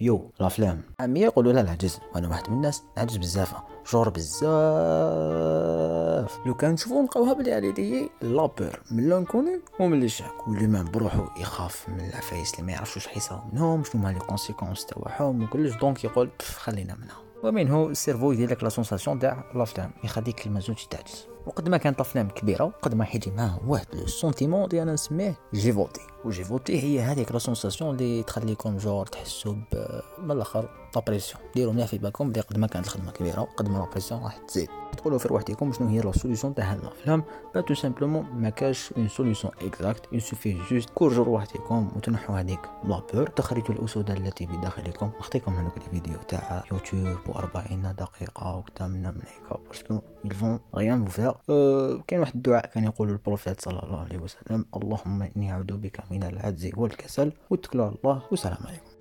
يو الافلام عاميه يقولوا لها العجز، وانا واحد من الناس نعجز بزاف، جور بزاف. لو كان نشوفو نلقاوها بلي على يدي لابور من لانكوني ومن لي شاك، واللي ما بروحو يخاف من العفايس اللي ما يعرفش واش حيصاو منهم، شنو هما لي كونسيكونس تاعهم وكلش، دونك يقول خلينا منها. ومنه السيرفو يدير لك لا سونساسيون تاع الافلام، يخليك ما تزوجش تعجز. وقد ما كانت الافلام كبيره قد ما حيجي معاه واحد لو سونتيمون اللي انا نسميه جي فوتي. وجي فوتي هي هذيك لا سونساسيون اللي تخليكم جور تحسوا من الاخر لابريسيون. ديروا مليح في بالكم بلي قد ما كانت الخدمه كبيره قد ما لابريسيون راح تزيد. تقولوا في روحكم شنو هي لا سوليوشن تاع هاد الافلام؟ با تو سامبلومون ما كاش اون سوليوشن اكزاكت، يسوفي جوست كورجوا روحكم وتنحوا هذيك لابور، تخرجوا الاسود التي بداخلكم. نخطيكم هذوك الفيديو تاع يوتيوب و40 دقيقه وكذا من هيك باسكو يلفون غيان فوفير. كاين واحد الدعاء كان يقول البروفيت صلى الله عليه وسلم: اللهم اني اعوذ بك من العجز والكسل، واتكلوا على الله والسلام عليكم.